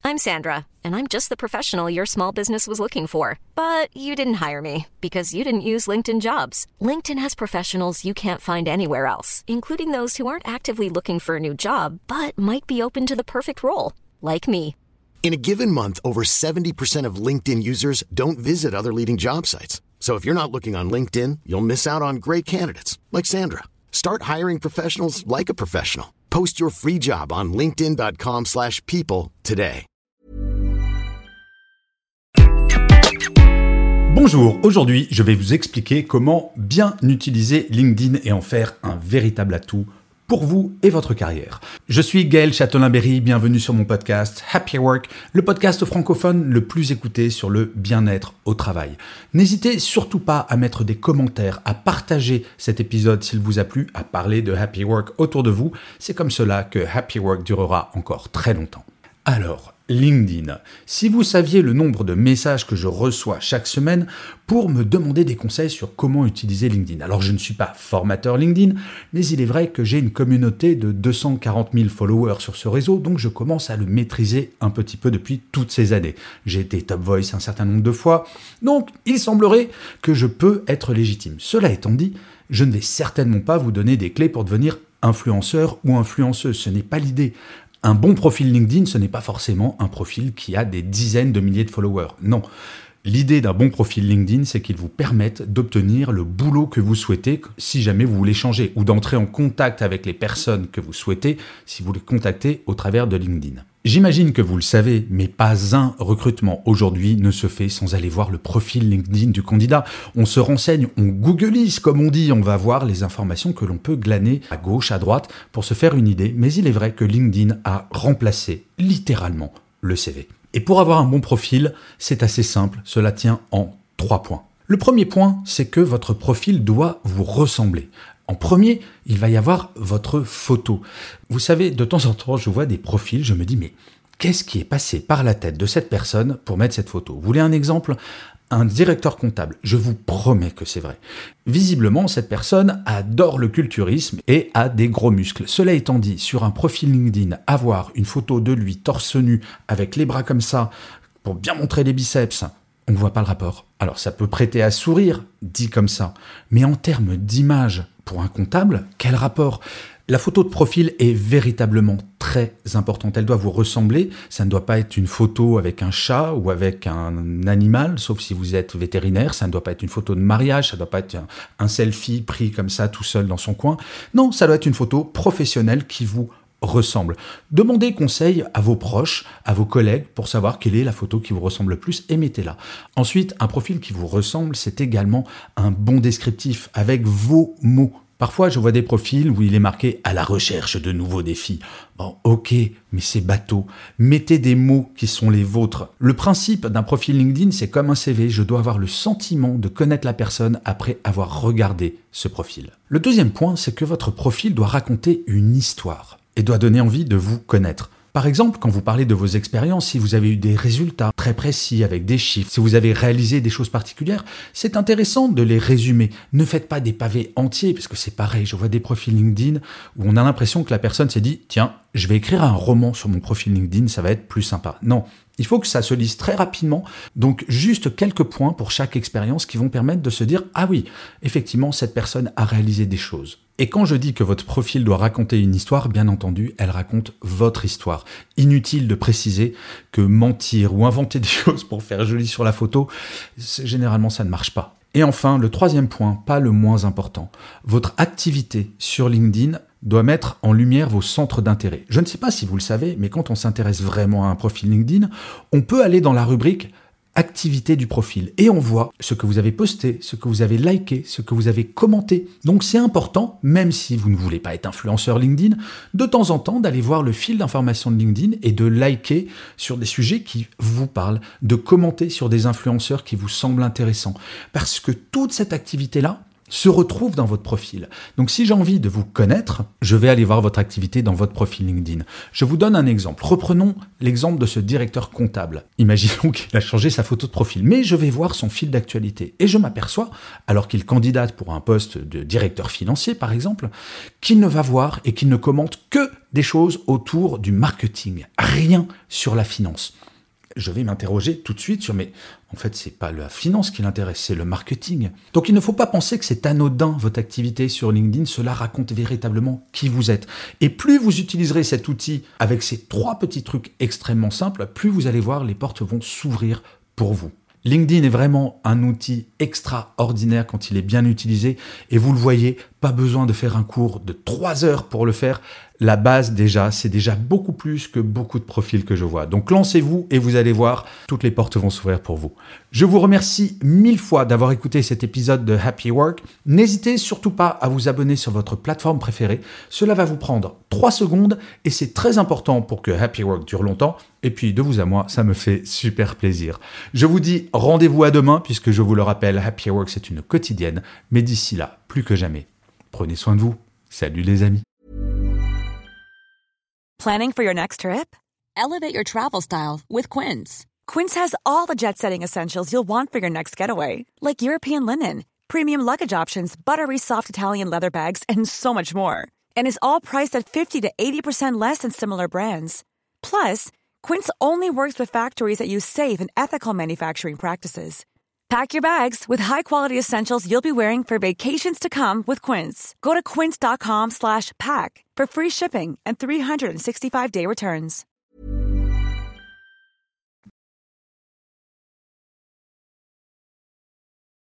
I'm Sandra, and I'm just the professional your small business was looking for. But you didn't hire me because you didn't use LinkedIn Jobs. LinkedIn has professionals you can't find anywhere else, including those who aren't actively looking for a new job, but might be open to the perfect role, like me. In a given month, over 70% of LinkedIn users don't visit other leading job sites. So if you're not looking on LinkedIn, you'll miss out on great candidates like Sandra. Start hiring professionals like a professional. Post your free job on linkedin.com/people today. Bonjour, aujourd'hui je vais vous expliquer comment bien utiliser LinkedIn et en faire un véritable atout pour vous et votre carrière. Je suis Gaël Châtelain-Berry, bienvenue sur mon podcast Happy Work, le podcast francophone le plus écouté sur le bien-être au travail. N'hésitez surtout pas à mettre des commentaires, à partager cet épisode s'il vous a plu, à parler de Happy Work autour de vous. C'est comme cela que Happy Work durera encore très longtemps. Alors, LinkedIn. Si vous saviez le nombre de messages que je reçois chaque semaine pour me demander des conseils sur comment utiliser LinkedIn. Alors, je ne suis pas formateur LinkedIn, mais il est vrai que j'ai une communauté de 240 000 followers sur ce réseau, donc je commence à le maîtriser un petit peu depuis toutes ces années. J'ai été Top Voice un certain nombre de fois, donc il semblerait que je peux être légitime. Cela étant dit, je ne vais certainement pas vous donner des clés pour devenir influenceur ou influenceuse, ce n'est pas l'idée. Un bon profil LinkedIn, ce n'est pas forcément un profil qui a des dizaines de milliers de followers. Non. L'idée d'un bon profil LinkedIn, c'est qu'il vous permette d'obtenir le boulot que vous souhaitez si jamais vous voulez changer ou d'entrer en contact avec les personnes que vous souhaitez si vous les contactez au travers de LinkedIn. J'imagine que vous le savez, mais pas un recrutement aujourd'hui ne se fait sans aller voir le profil LinkedIn du candidat. On se renseigne, on googleise comme on dit, on va voir les informations que l'on peut glaner à gauche, à droite pour se faire une idée, mais il est vrai que LinkedIn a remplacé littéralement le CV. Et pour avoir un bon profil, c'est assez simple, cela tient en 3 points. Le premier point, c'est que votre profil doit vous ressembler. En premier, il va y avoir votre photo. Vous savez, de temps en temps, je vois des profils, je me dis, mais qu'est-ce qui est passé par la tête de cette personne pour mettre cette photo ? Vous voulez un exemple ? Un directeur comptable, je vous promets que c'est vrai. Visiblement, cette personne adore le culturisme et a des gros muscles. Cela étant dit, sur un profil LinkedIn, avoir une photo de lui torse nu, avec les bras comme ça, pour bien montrer les biceps, on ne voit pas le rapport. Alors ça peut prêter à sourire, dit comme ça, mais en termes d'image, pour un comptable, quel rapport ? La photo de profil est véritablement très importante. Elle doit vous ressembler. Ça ne doit pas être une photo avec un chat ou avec un animal, sauf si vous êtes vétérinaire. Ça ne doit pas être une photo de mariage. Ça ne doit pas être un selfie pris comme ça tout seul dans son coin. Non, ça doit être une photo professionnelle qui vous ressemble. Demandez conseil à vos proches, à vos collègues pour savoir quelle est la photo qui vous ressemble le plus et mettez-la. Ensuite, un profil qui vous ressemble, c'est également un bon descriptif avec vos mots. Parfois, je vois des profils où il est marqué « à la recherche de nouveaux défis ». Bon, ok, mais c'est bateau. Mettez des mots qui sont les vôtres. Le principe d'un profil LinkedIn, c'est comme un CV. Je dois avoir le sentiment de connaître la personne après avoir regardé ce profil. Le deuxième point, c'est que votre profil doit raconter une histoire et doit donner envie de vous connaître. Par exemple, quand vous parlez de vos expériences, si vous avez eu des résultats très précis avec des chiffres, si vous avez réalisé des choses particulières, c'est intéressant de les résumer. Ne faites pas des pavés entiers, parce que c'est pareil, je vois des profils LinkedIn où on a l'impression que la personne s'est dit « Tiens, je vais écrire un roman sur mon profil LinkedIn, ça va être plus sympa. » Non, il faut que ça se lise très rapidement, donc juste quelques points pour chaque expérience qui vont permettre de se dire « Ah oui, effectivement, cette personne a réalisé des choses. » Et quand je dis que votre profil doit raconter une histoire, bien entendu, elle raconte votre histoire. Inutile de préciser que mentir ou inventer des choses pour faire joli sur la photo, généralement ça ne marche pas. Et enfin, le troisième point, pas le moins important, votre activité sur LinkedIn doit mettre en lumière vos centres d'intérêt. Je ne sais pas si vous le savez, mais quand on s'intéresse vraiment à un profil LinkedIn, on peut aller dans la rubrique activité du profil et on voit ce que vous avez posté, ce que vous avez liké, ce que vous avez commenté. Donc c'est important, même si vous ne voulez pas être influenceur LinkedIn, de temps en temps d'aller voir le fil d'information de LinkedIn et de liker sur des sujets qui vous parlent, de commenter sur des influenceurs qui vous semblent intéressants. Parce que toute cette activité-là, se retrouvent dans votre profil. Donc si j'ai envie de vous connaître, je vais aller voir votre activité dans votre profil LinkedIn. Je vous donne un exemple. Reprenons l'exemple de ce directeur comptable. Imaginons qu'il a changé sa photo de profil, mais je vais voir son fil d'actualité. Et je m'aperçois, alors qu'il candidate pour un poste de directeur financier par exemple, qu'il ne va voir et qu'il ne commente que des choses autour du marketing, rien sur la finance. Je vais m'interroger tout de suite sur, mais en fait, c'est pas la finance qui l'intéresse, c'est le marketing. Donc, il ne faut pas penser que c'est anodin, votre activité sur LinkedIn. Cela raconte véritablement qui vous êtes. Et plus vous utiliserez cet outil avec ces 3 petits trucs extrêmement simples, plus vous allez voir, les portes vont s'ouvrir pour vous. LinkedIn est vraiment un outil extraordinaire quand il est bien utilisé. Et vous le voyez, pas besoin de faire un cours de 3 heures pour le faire. La base déjà, c'est déjà beaucoup plus que beaucoup de profils que je vois. Donc lancez-vous et vous allez voir, toutes les portes vont s'ouvrir pour vous. Je vous remercie 1000 fois d'avoir écouté cet épisode de Happy Work. N'hésitez surtout pas à vous abonner sur votre plateforme préférée. Cela va vous prendre 3 secondes et c'est très important pour que Happy Work dure longtemps. Et puis de vous à moi, ça me fait super plaisir. Je vous dis rendez-vous à demain puisque je vous le rappelle, Happy Work c'est une quotidienne. Mais d'ici là, plus que jamais, prenez soin de vous. Salut les amis. Planning for your next trip? Elevate your travel style with Quince. Quince has all the jet-setting essentials you'll want for your next getaway, like European linen, premium luggage options, buttery soft Italian leather bags, and so much more. And is all priced at 50 to 80% less than similar brands. Plus, Quince only works with factories that use safe and ethical manufacturing practices. Pack your bags with high-quality essentials you'll be wearing for vacations to come with Quince. Go to quince.com/pack for free shipping and 365-day returns.